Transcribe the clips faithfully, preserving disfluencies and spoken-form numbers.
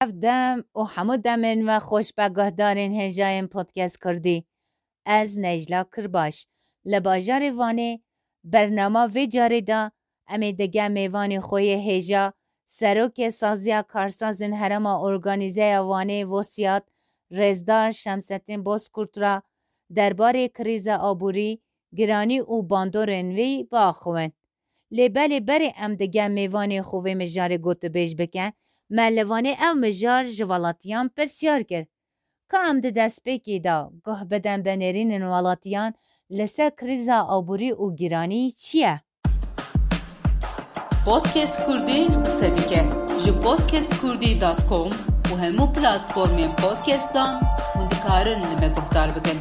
دم و همو دمن و خوش بگاه دارین هجایم پودکست کردی از نجلا کرباش لباجار وانه برنامه و جاره دا امی دگه میوان خوی هجا سروک سازیا کارسازن هرما ارگانیزه وانه وسیات رزدار شمستین بوسکورترا درباره کریز آبوری گرانی و باندورن وی باخوین لبالی بری ام دگه میوان خوی مجار گوت بیش بکن ملوانه او مجار جوالاتیان پرسیار کرد. که ام ده دست بکی دا گه بدن بنرین والاتیان لسه کریزا آبوری و گیرانی چیه؟ پودکست کردی قصه دیگه جو پودکست کردی دات کام و همو پلاتفورم پودکستان مندکارن نمه گفتار بکن.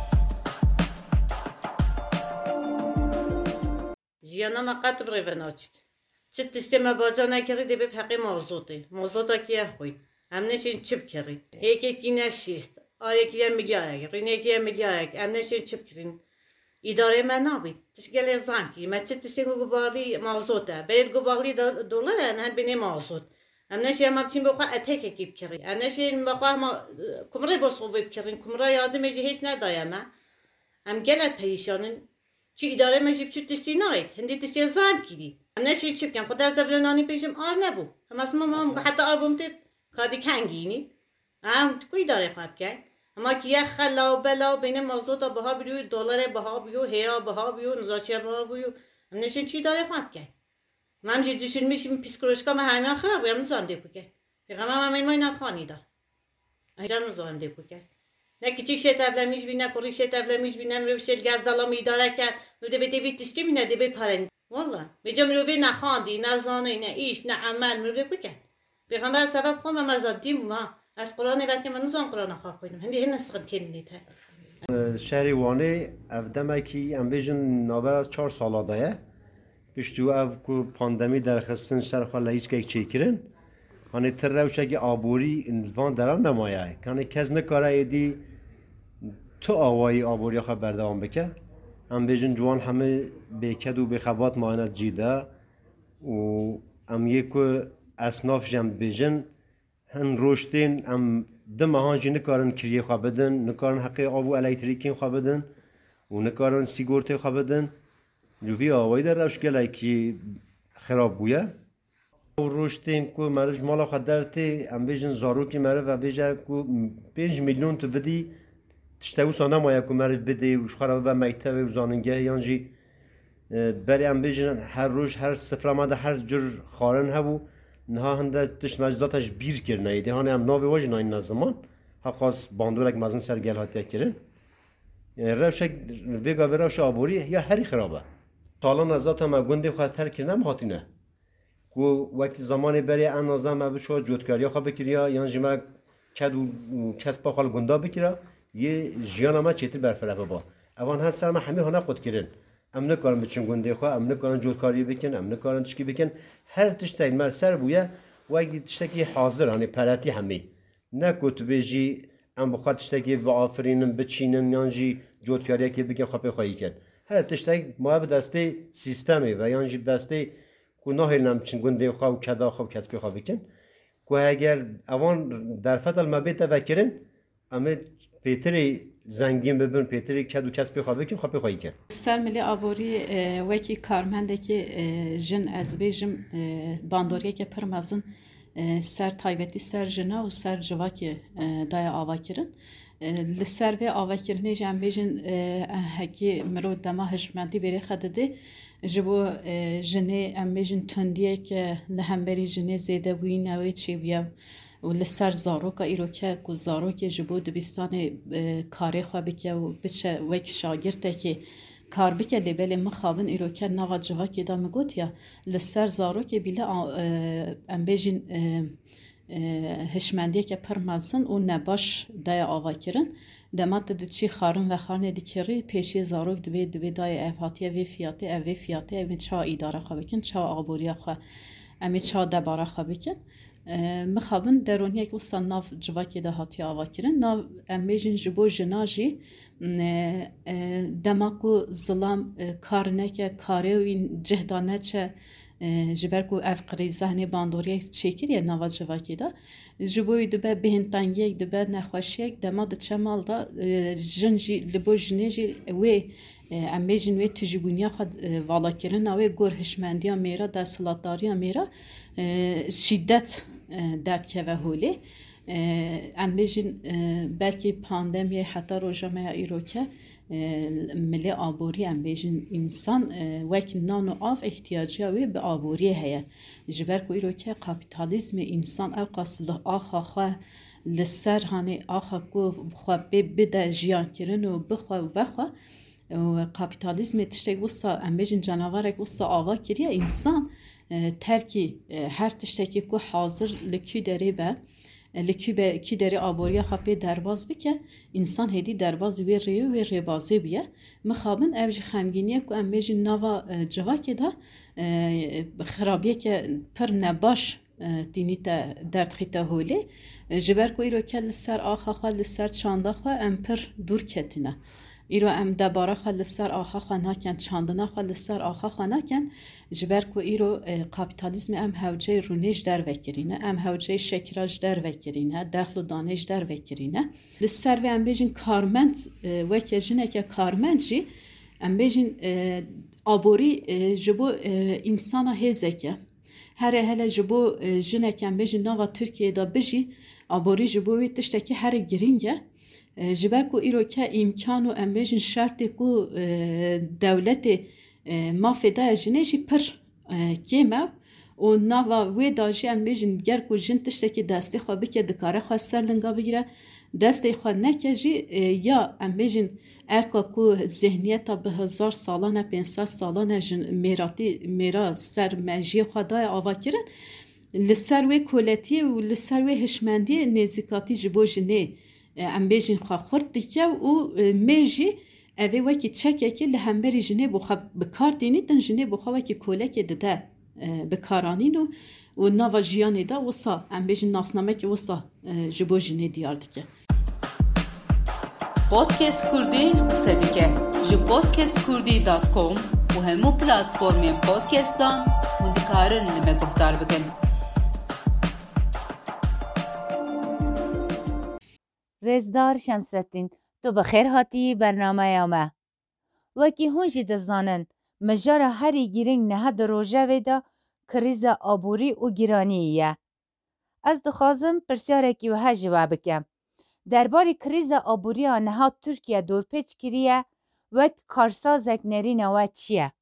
جیانا ما قطب ریون آچید. چه تشتی ما باجا نکردی دی به حقی موضوعی. موضوعا کیه خوی؟ هم نشین چپ کردی. یکی کی نشیست. آره کیه میلیارد. رینه کیه میلیارد. هم نشین چپ کردین. اداره من نبود. تشکیل زنکی. ما چه تشتی کو گواری موضوعه. باید گواری دلار نه بینی موضوع. هم نشین ما بچین بخواه اتک کیپ کردی. هم نشین بخواه ما کمره بسخو بیب کردین. کمره یادم میشه هیچ ندایم. هم گلت پریشانن. چی اداره میشه چه تشتی ناید. هندی تشتی زنکی دی. هم نشین چپ کن. خدا زبرنانی پیشم آر نبود. هم اسم ما حتی آلبوم تید خادی کنگینی. هم کوی داره خواهد کرد. اما که یه خلا و بلا بین موضوع تا بها بیو دلار بها بیو هیرا بها بیو نزاچی بها بیو هم نشین چی داره خواهد کرد. من جدی دشون میشیم پیسکولوژیکا من همین خراب هم نزان دیپو کرد. پیغام هم این ماینات خانی دار. اینجا نزان دیپو کرد. نه که چی شت ابلمیش بی نه کوری شت ابلمیش بی نه میروشل گازدالا میداره کرد. نو دی بیتی بیتشتی بی نه دی بی پرند. والله میجام میروی نه خاندی نه زانه نه ایش نه عمل میروی بکن. پیغام از سبب خواهم مزادیم ما از قرآن وقتی من نزان قرآن خواه کنیم. هندی هن نسخن تین نیته. شهری وانه افدمه کی ام بیشن نابر چهار ساله دایه. پشتو اف کو پاندمی در خستن سر خاله هیچ کی چیکرین. هنی تر روشه کی آبوری انوان دران نمایه. کنی کس نکاره ایدی تو آوایی آبوری خب بردام بکه. ام بیشن جوان همه بیکد و بخوات معاینات جیده و ام یکو اسناف جم بیشن هن روشتین ام دم هانجی نکارن کریه خواه بدن نکارن حقی آبو الکتریکی خواه بدن و نکارن سیگورتی خواه بدن جوی آوایی در روش گلای که خراب بویه و روشتین که مرج مالا خود درتی ام بیجن زارو که مرج و بیجه که پنج میلیون تو بدی تشتاو سانه مایه که مرج بدی و خراب به مکتب و زاننگه یانجی بری ام بیجن هر روش هر سفر آمده هر جور خارن هبو نه هنده تشت مجداتش بیر کرد نیدی هانی هم ناوی واج ناین نزمان حقاس باندورک مزن سر گل هاتیه کردن روش ویگا و روش آبوری یا هری خرابه سالان ازات هم گنده خواهد تر کردن هاتی نه کو وقتی زمانی بری ان نازم ما بشو جوتکاری خواه بکریا یا جمع کد و کسب خال گنده بکریا یه جیان ما چیتر برفرق با اوان هست سر ما همه هنر خود کردن ام نکارن بچن گنده خواه ام نکارن جوتکاری بکن ام نکارن تشکی بکن هر تشتی مر سر بویه و اگه تشتی حاضر هنی پراتی همه نه کت بیجی ام بخواد تشتی با آفرینم بچینن یانجی جوتکاری که بکن خواهی خواهی کرد هر تشتی ما به دسته سیستمی و یانجی دسته که نه نم چن گنده خواه و کدا خواه کسبی خواه بکن که اگر اوان در فتل مبیت وکرن اما پیتری زنگین ببین پیتری کدو کسبی خواه بکن خواه خواهی کرد سر ملی آبوری وکی کارمنده که جن از بیجم باندوریه که پرمازن سر تایبتی سر جنا و سر جواکی دای آوا کرن لسر و آوا کرنه جن بیجن هکی مرود دما هجمنتی بری خدده جبو جنه ام بیجن تندیه که لهمبری جنه زیده بوی نوی چی بیم و لسر زاروکا ایروکه کو زاروکه جبو دبستان کاری خواه بکه و بچه وک شاگرده که کار بکه لیبل مخابن ایروکه ناغا جواکی دا مگوتیا لسر زاروکه بیله ام بیجین هشمندیه که پرمازن و نباش دای آوا کرن دمات دو چی خارن و خانه دیکری پیشی زاروک دوی دوی دای افاتیه وی فیاتی اوی فیاتی اوی چا ایداره خواه بکن چا آبوریا خواه امی چا دباره خواه بکن مخابن درونی یک وسط ناف جواکی ده هاتی آوا کرن ناف امیجن جبو جناجی دماکو ظلام کار نکه کاری و جهدانه چه جبر کو اف قریزه هنی باندوری چکیه نوا جواکی دا جبوی دبه بهنتانگی دبه نخوشی دما د چمال دا جنجی لبو جنجی و امیجن و تجیبونیا خود والا کردن و گور هشمندیا میرا در سلطداریا میرا شدت در که و هولی امیجن بلکه پاندمی حتی روزمه ایروکه ملی آبوری ام بیشن انسان وقت نان و آف احتیاجی وی به آبوری هیا جبر کوی رو که کاپیتالیسم انسان او قصد آخا خو لسر هانی آخا کو خو بده جیان کردن و بخو و خو و کاپیتالیسم تشتگ وسا ام بیشن جناوره وسا آوا کریه انسان ترکی هر تشتکی کو حاضر لکی دری به لکی به کی دری آبوریا خپی درباز بکه انسان هدی درباز وی ریو وی ریبازی بیه مخابن اوج خمگینیه کو ام بیج نوا جواکی دا خرابیه که پر نباش دینی تا درد خیتا هولی جبر کو ایرو که لسر آخا خوا لسر چانده خوا ام پر دور کتینه ایرو ام دباره خوا لسر آخا خوا ناکن چاندنا خوا لسر آخا خوا ناکن جبر کو ایرو کاپیتالیسم ام هوجه رونیش در وکرینه ام هوجه شکراج در وکرینه دخل و دانش در وکرینه لسر و ام بیجین کارمند وکه جنه که کارمند جی ام بیجین آبوری جبو انسان هزکه هر هلا جبو جنه که ام بیجین نوا ترکیه دا بجی آبوری جبوی تشتکی هر گرینگه جبر کو ایرو که امکان و امبیجن شرط کو دولت مافدا جنشی پر کیما و نوا و داجی امبیجن گر کو جن تشتکی دستی خو بکه دکاره خو سرلنگا بگیره دستی خو نکجی یا امبیجن ارکا کو ذهنیت به هزار سالانه پانصد سالانه جن میراتی میرا سر مجی خدای آوا کرن لسر و کولتی و لسر و هشمندی نزیکاتی جبو جنه ام بیجین خوا خورد دیگه و میجی اوه وکی چکه که لهمبری جنه بخوا بکار دینیدن جنه بخوا وکی کوله که دده بکارانین و و نوا جیانی دا وصا ام بیجین ناسنامه که وصا جبو جنه دیار دیگه پودکست کردی قصه دیگه جو پودکست کردی دات کام و همو پلاتفورمین پودکستان و دکارن نمه گفتار بکن رزدار شمسدین تو بخیر هاتی برنامه یامه وکی هونجی دزانن مجار هری گیرنگ نه در روژه ویدا کریز آبوری و گیرانیه از دخوازم پرسیاره که وها جواب بکم درباره کریز آبوری آنها ترکیه دورپیچ کریه وک کارسازک نرین و چیه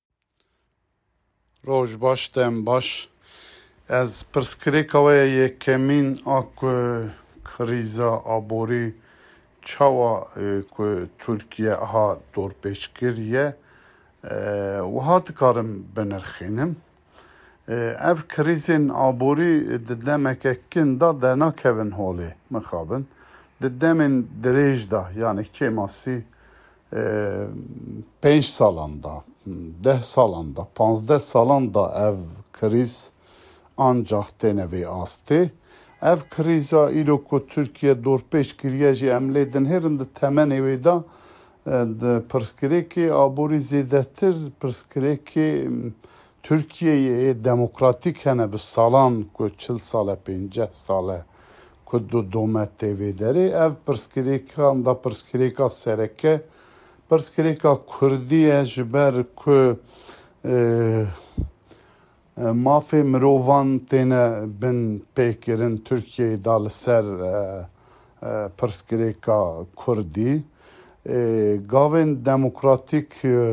روش باش دم باش از پرسکریکاوه یکمین آکو کریزا آبوری چاوا که ترکیه ها دور پیش کریه و ها دکارم بنرخینم اف کریزین آبوری ددمه که کندا در ناکوین هولی مخابن ددمین دریج دا یعنی که ماسی پنج سالاندا ده سالاندا پانزده سالاندا اف کریز ancak denevi astı. Ev kriza ilo ko Türkiye dorpeş kiriye ji emledin herin de temen evi da de perskireki aburi zedetir perskireki Türkiye'ye demokratik hene bir salan ko çıl sale pince sale ko do domet evi deri ev perskireki anda perskireka sereke perskireka Kurdiye jiber ko مافی مروان تینه بن پیکرین ترکیه دال سر پرسکریکا کردی گاوین دموکراتیک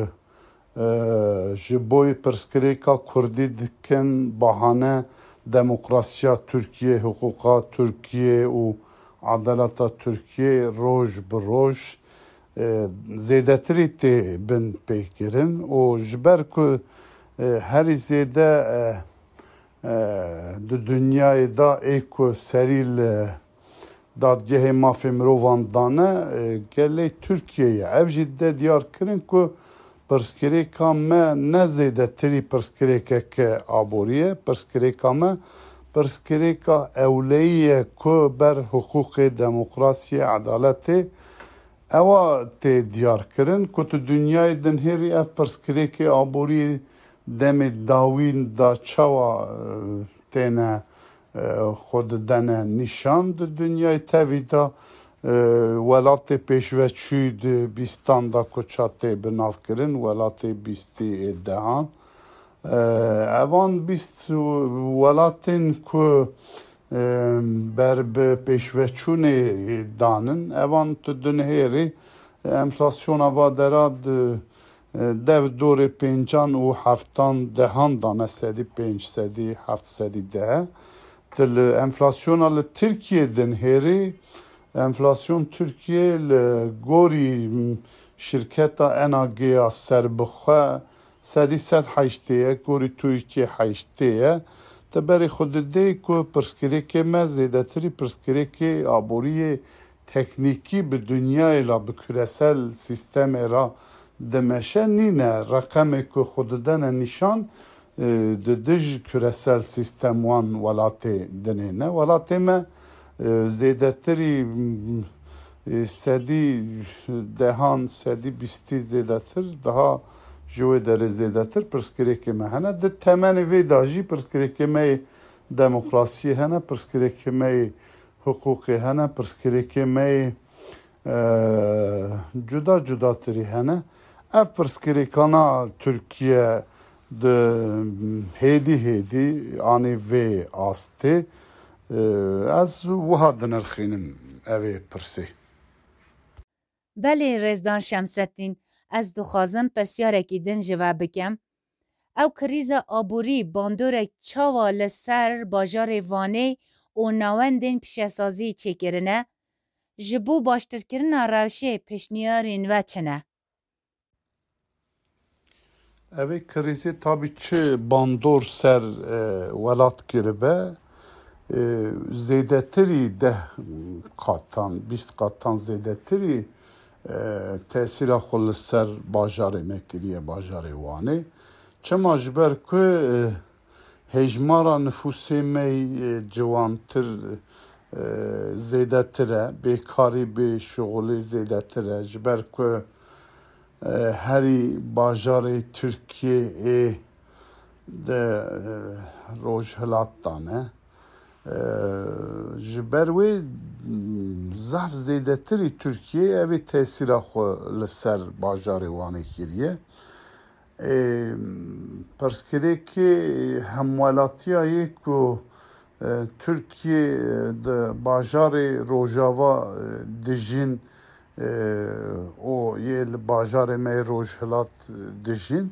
جبوی پرسکریکا کردی دکن بهانه دموکراسیا ترکیه حقوقا ترکیه و عدالتا ترکیه روش بروش زیدتری تی بن پیکرین و جبر که هر زیده دو دنیای دا ایکو سریل دادگاه مافی مروان دانه گله ترکیه اف جده دیار کرن که پرسکریکا ما نزیده تری پرسکریکا که آبوریه پرسکریکا ما پرسکریکا اولیه که بر حقوق دموکراسی عدالتی اوا تی دیار کرن که تو دنیای دنهری اف پرسکریکا آبوری demê dawîn da çawa têne xwe didene nîşan di dunyayê tevî da welatê pêşveçû di bîstan da ku çatê bi nav kirin welatê bîstê ê dehan evan bîst welatên ku ber bi pêşveçûnê danin evan tu dunhêrê enflasyona vadera di dev dorê pêncan û heftan dehan dane sedî pênc sedî heft sedî dehe li enflasyona li Tirkiye dinhêrê enflasyon Türkiye li gorî şirketa N A G ya serbixwe sedî sed heştê ye gorî Tirkiye heştê ye te berê xwe didê ku pirsgirêkê me zêdetirî pirsgirêkê aboriyê teknîkî bi dunyayê ra bi küresel sîstemê ra dimeşe nîne reqemê ku xwe didene nîşan di dij küresel sîstem wan welatê dinêne welatê me zêdetirî sedî dehan sedî bîstî zêdetir daha ji wê derê zêdetir pirsgirêkê me hene di temenê vê da jî pirsgirêkê me yê demokrasiyê hene pirsgirêkê me yê hiqûqê hene pirsgirêkê me yê cuda cudatirî hene ev pirsgirêkana Tirkiye di hêdî hêdî anî vê astê ez wiha dinirxînim evê pirsê Belê Rêzdar Şemseddîn ez dixwazim pirsyarekî din ji we bikim ew krîza aborî bandorek çawa li ser bajarê Vanê û nawendên pişesazî çêkirine ji bo baştirkirina rewşê pêşniyarên we çi ne? Evê krîzê tabî çi bandor ser welat kiribe zêdetirî deh qatan bîst qatan zêdetirî tesîra xwe li ser bajarê me kiriye bajarê Wanê çima ji ber ku hejmara nüfusê me ciwantir zêdetir e bêkarî bê şixulê zêdetir e ji ber ku herî bajarê Tirkiyeyê de rojhilat dane ji ber wê zaf zêdetirî Tirkiye evê tesîra xwe li ser bajarê Wanê kiriye pirsgirêkê hemwelatiyayê ku Tirkiye di bajarê Rojava dijîn o yê li bajarê me rojhilat dijîn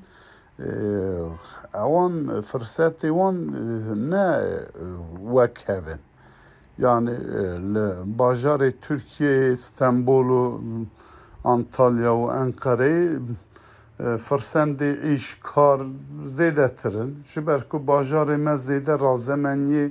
ewan firsetê wan ne wek hevin yani li bajarê Tirkiyeyê Stenbol û Antalya û Enqereyê firsendê îş kar zêdetirin ji ber ku bajarê me zêde razemeniyê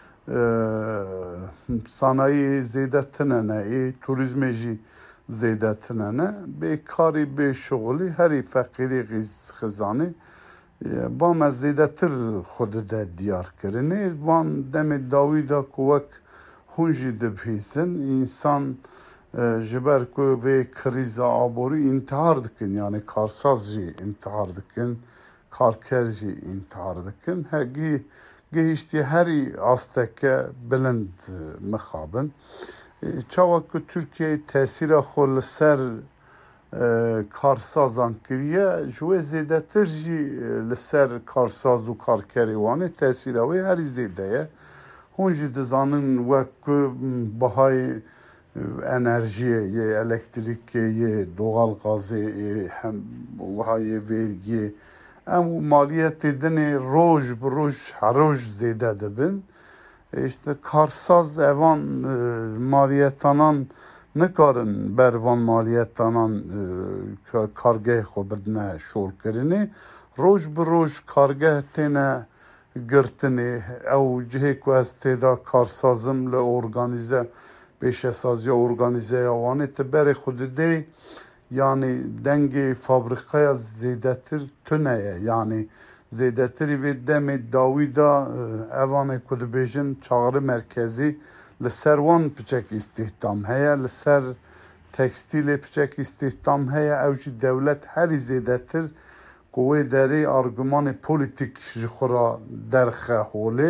sanayiyê zêde tinene ê turizmê jî zêde tinene bêkarî bêşixulî herî feqîrî xizanî bame zêdetir xwe dide diyar kirinê van demê dawî da ku wek hûn jî dibihîzin însan ji ber ku vê krîza aborî intihar dikin yani karsaz jî intihar dikin karker jî intihar dikin hegî gihîştiye herî asteke bilind mixabin çawa ku Tirkiyeyê tesîra xwe li ser karsazan kiriye ji wê zêdetir jî li ser karsaz û karkerê Wanê tesîra wê herî zêde ye hûn jî dizanin wek ku bihayê enerjiyê yê elektrîkê yê doğalgazê yê hem wihayê vergiyê em maliyetê dinê roj bi roj her roj zêde dibin işte karsaz evan maliyetanan nikarin ber van maliyetanan kargeh xwe bidine şolkirinê roj bi roj kargeh têne girtinê ew cihê ku ez têda karsazim li organize pêşesaziya organizeya Wanê ti berê xwe didê yani dengê fabrîqeya zêdetir tune ye yani zêdetirî vê demê dawî da evanê ku dibêjin çağrı merkezî li ser wan piçek îstihdam heye li ser tekstîlê piçek îstihdam heye ew jî dewlet herî zêdetir کوی دری آرگومان پولیتیک جخورا درخه هولی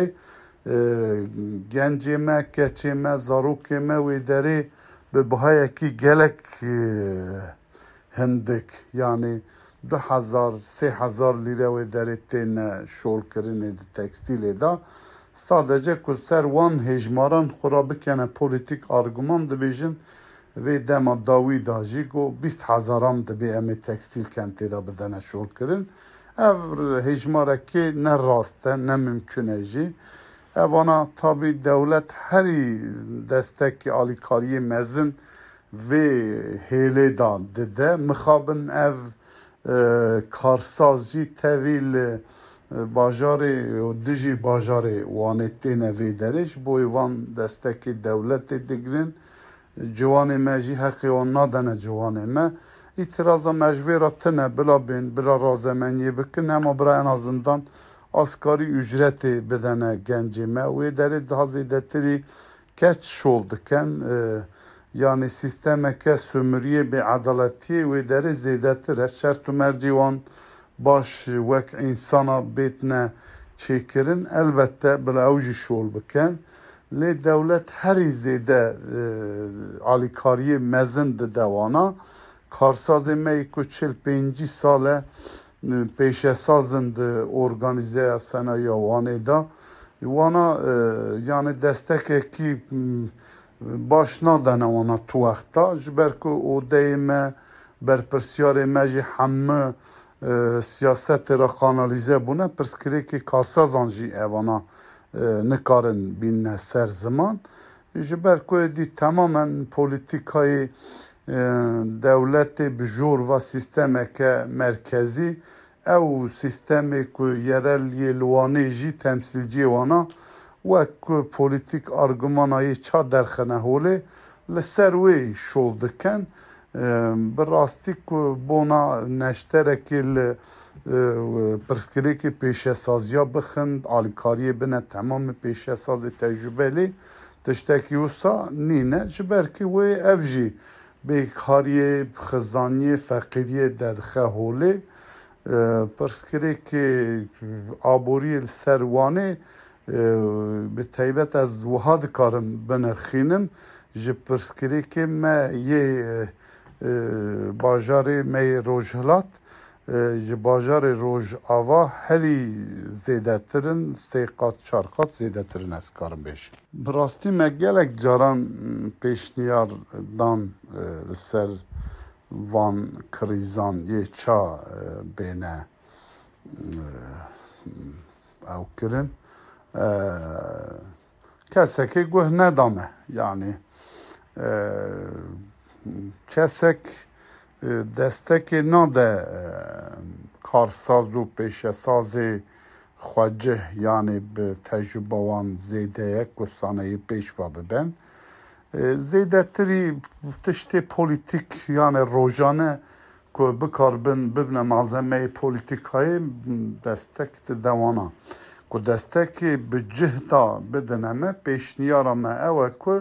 گنجی ما کچی ما زاروکی ما وی دری به بهای کی گلک هندک یعنی دو هزار سه هزار لیره وی دری تین شول کرنه دی تکستیل دا sadece ku ser wan hejmaran xura bikene politik argüman dibêjin vê dema dawî da jî got bîst hezaran dibê em ê tekstil kentê da bidene şolkirin. Ev hejmarekê ne rast e ne mümkün e jî. Evana tabi dewlet herî destekê alîkariyê mezin vê hêlê da dide. Mixabin ev karsaz jî tevî li bajarê dijî bajarê wanê têne vê derê ji bo wan destekê dewletê digirin. Ciwanê me jî heqê wan nadene ciwanê me. İtiraza me ji vê re tune bila bên bila razemeniyê bikin hema bira en azından askarî ücretê bidene gencê me. Wê derê daha zêdetirî keç şol dikin. Yani sistemeke sömüriyê bêedaletiyê wê derê zêdetir e. Şert û mercê wan baş wek insana bêtine çêkirin elbette bila ew jî şol bikin. Lê dewlet herî zêde alîkariyê mezin dide wana. Karsazê me ku çil pêncî sal e pêşesazin di organîzeya senayiya wanê da. Wana yani destekekî baş nadene wana tu wexta ji ber ku odeyê me berpirsyarê me jî hemû siyasetê re kanalîze bûne pirsgirêkê karsazan jî evana nikarin bîne ser ziman. Ji ber ku êdî temamen polîtîkayê dewletê bi jor ve sistemeke merkezî ew sistemê ku yereliyê li wanê jî temsîlciyê wana wek ku polîtîk argümanayê ça derxine holê li ser wê şol dikin. Bi rastî ku bona neşterekê li pirsgirêkê pêşesaziya bixin alîkariyê bine temamê pêşesazê tecrübelî tiştekî wisa nîne ji ber ku wê ev jî bêkariyê xizaniyê feqîriyê derdixe holê pirsgirêkê aboriyê li ser wanê bi taybet ez wiha dikarim binirxînim ji pirsgirêkê me yê bajarê me yê Rojhilat ji bajarê Rojava herî zêdetirin sê qat çar qat zêdetirin ez karim bêjim. Bi rastî me gelek caran pêşniyar dan li ser van krîzan yê ça bêne ew kirin. Kesekê guh nedame yani kesek destekê nade karsaz û pêşesazê xwecih yani bi tecrübe wan zêde ye ku sanayî pêş ve bibin. Zêdetirî tiştê polîtîk yani rojane ku bikarbin bibine malzemeyê polîtîkayê destek dide wana. Ku destekê bi cih da bidine me pêşniyara me ew e ku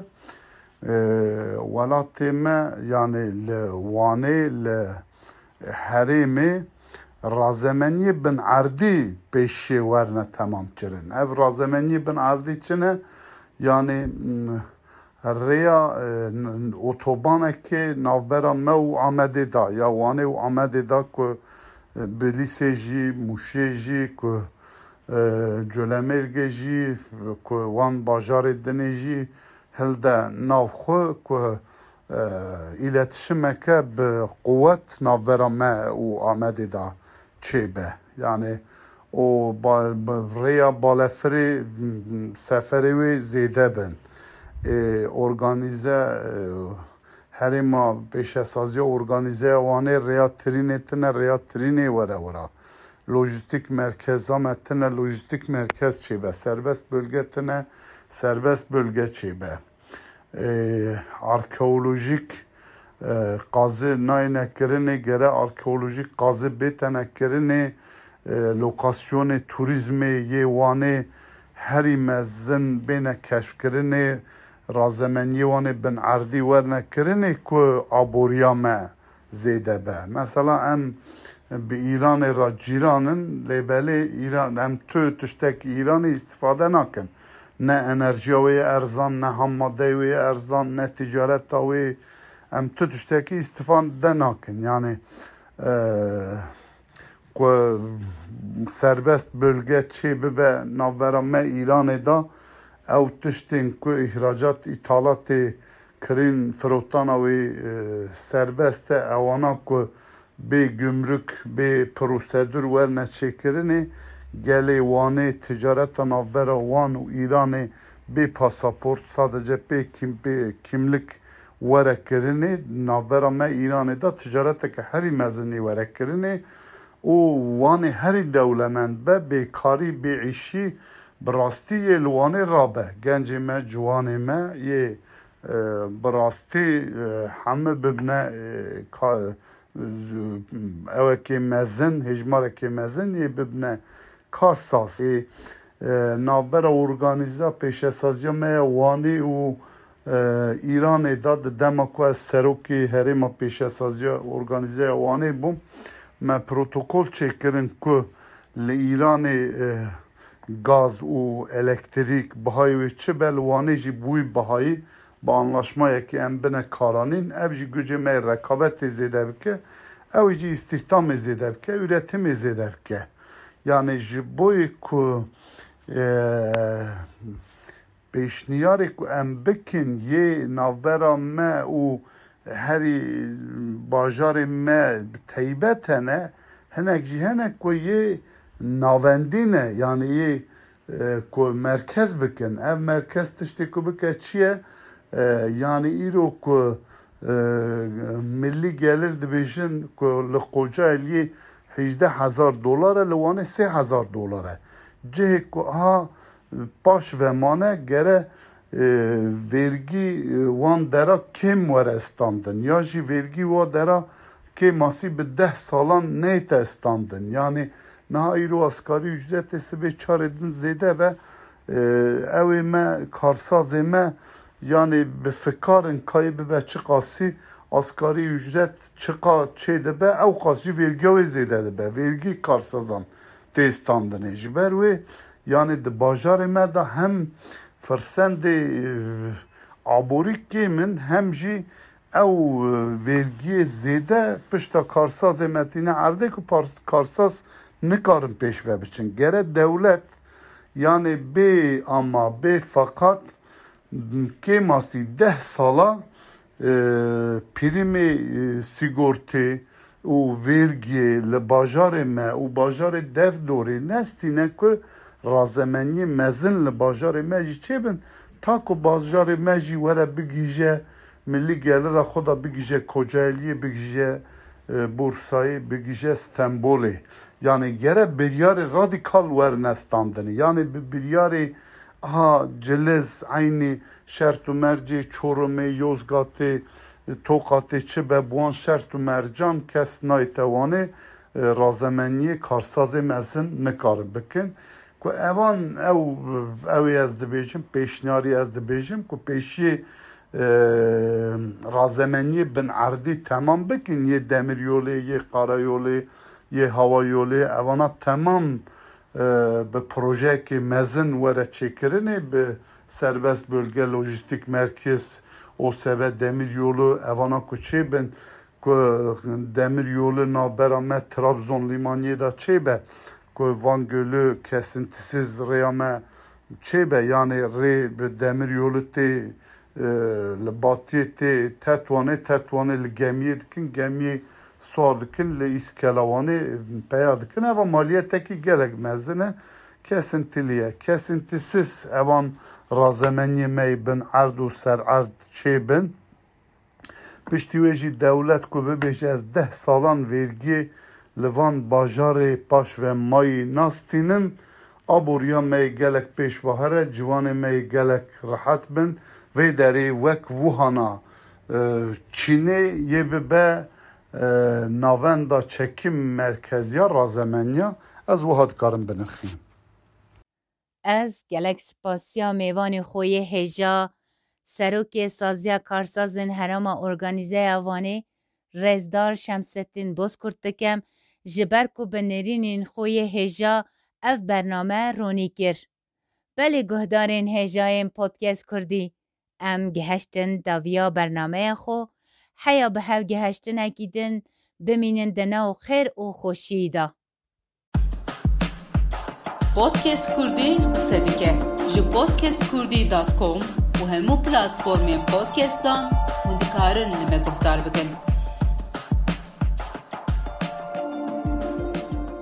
welatê me yani li Wanê li herêmê razemeniyê bin erdî pêşê werne temam kirin. Ev razemeniyê bin erdî çi ne? Yani rêya otobanekê navbera me û Amedê da ya Wanê û Amedê da ku bi Lîsê jî Mûşê jî ku Colemêrgê jî ku wan bajarê dinê jî hilde navxwe ku îletişimeke bi quwet navbera me û Amedê da çêbe. Yani o rêya balefirê seferê wê zêde bin. Organize herêma pêşesaziya organizeya wanê rêya tirînê tune rêya tirînê were wera. Lojistik merkeza me tune lojistik merkez çêbe. Serbest bölge tune serbest bölge çêbe. Arkeolojik qazê nayne kirinê gere arkeolojik qazê bêtene kirinê lokasyonê turizmê yê Wanê herî mezin bêne keşfkirinê razemeniyê Wanê bin erdî werne kirinê ku aboriya me zêde be. Mesela em به ایران را جیرانن لیبلی ایران هم تو تشتک ایرانی استفاده نکن نه انرژیوی ارزان نه هم مادهوی ارزان نه تجارت تاوی هم تو تشتکی استفاده نکن یعنی که سربست بölge چی ببه نوبرامه ایران دا او تشتین که اخراجات اطالات کرین فروتان و سربست اوانا که به گمرک به پروسیدور ورنه چکرنه گلی وانه تجارت نوبر وان و ایران به پاسپورت sadece به کم به kimlik وره کرنه نوبرامه ایران دا تجارت که هری مزنی وره کرنه او وان هر دولمند به بیکاری بیعیشی براستی یه لوانه رابه گنج ما جوان ما یه براستی همه ببنه اوه که مزن هجماره که مزن یه ببنه کارساز نابر ارگانیزا پیش سازی ما وانی و ایران داد دمکو از سروکی هریم پیش سازی ارگانیزه وانی بوم ما پروتکل چکرن که لایران گاز و الکتریک بهایی و چه بلوانه جی بوی بهایی با anlaşmaya که ام بنا کارانین او جی گوجه می رکابت زیده بکه او جی استخدام زیده بکه üretim زیده بکه yani جی بوی که پیشنیاری که ام بکن یه نوبرا ما و هری باجار ما تیبتنه هنک جی هنک که یه ناوندینه yani یه که مرکز بکن اف مرکز تشتی که بکه چیه yani ایرو که ملی gelir dibêjin که لقوجه الیه هجده هزار دلاره لوانه سه هزار دلاره جه که ها باش و مانه گره vergi وان درا کم وره استاندن یا جی vergi وان درا که ماسی به ده سالان نیت استاندن یعنی نه ایرو اسکاری ücret سبه چاردن زیده و اوی ما کارساز ما yani به فکارن کای به چه قاسی asgari ücret çıka çeyde be ev qasi vergi ve zede be vergi karsazan testandın jiber ve yani de bajar me da hem fırsende aborik kimin hem ji ev vergi zede pişta karsaz metine arde ku karsaz nikarın peşve biçin gere devlet yani be ama be fakat که ماسی ده سالا پریم سیگورتی و ورگی لباجار ما و باجار دف دوری نستینه که رازمانی مزن لباجار ما جی چه بین تا که باجار ما جی وره بگیجه ملی گلر خدا بگیجه کجالی بگیجه بورسایی بگیجه استنبولی yani gere biryar radikal wer nestandini yani biryar ha celiz aynı şertu merci Çorum'u Yozgat'ı Tokat'ı çibe buan şertu mercan kes naytevani razemeniye karsazı mezin nekar bikin ku evan ev ev ez dibêjim pêşniyarî ez dibêjim ku pêşî razemeniye bin erdî temam bikin yê demiryolê yê qarayolê yê havayolê evana temam به پروژه که مزن وره چکرنه به سربست بölge lojistik merkez o sebe demir yolu evana kuçe ben demir yolu navberame Trabzon limaniye da çebe ko Van Gölü kesintisiz reyame çebe yani re be demir yolu te le batiye te tetwane tetwane le gemiye dikin gemiye suardikin le iskelavanı peyadikin eva maliyeteki gerek mezine kesintiliye kesintisiz evan razemeniye meybin ardu ser ard çebin piştiveji devlet ku bebeji ez deh salan vergi levan bajarı paş ve mayi nastinin aburiya mey gelek peşvahare civanı mey gelek rahat bin ve deri vek vuhana Çin'e yebebe navenda çekim merkeziya razemeniya ez وحد کارم بنرخیم از گلک سپاسیا میوان خوی هجا سروک سازیا کارسازن هرما ارگانیزه اوانه رزدار شمستین بوز کرتکم جبر کو بنرینین خوی هجا اف برنامه رونی کر. بله گهدارین هجایم پودکست کردی ام گهشتن داویا برنامه خو حیا به هاو گهشتن اکیدن بمینن دناو خیر و خوشی دا. پودکست کردی قصه دیگه جو پودکست کردی دات کام و همو پلاتفورم پودکستان و دکارن نمه گفتار بکن.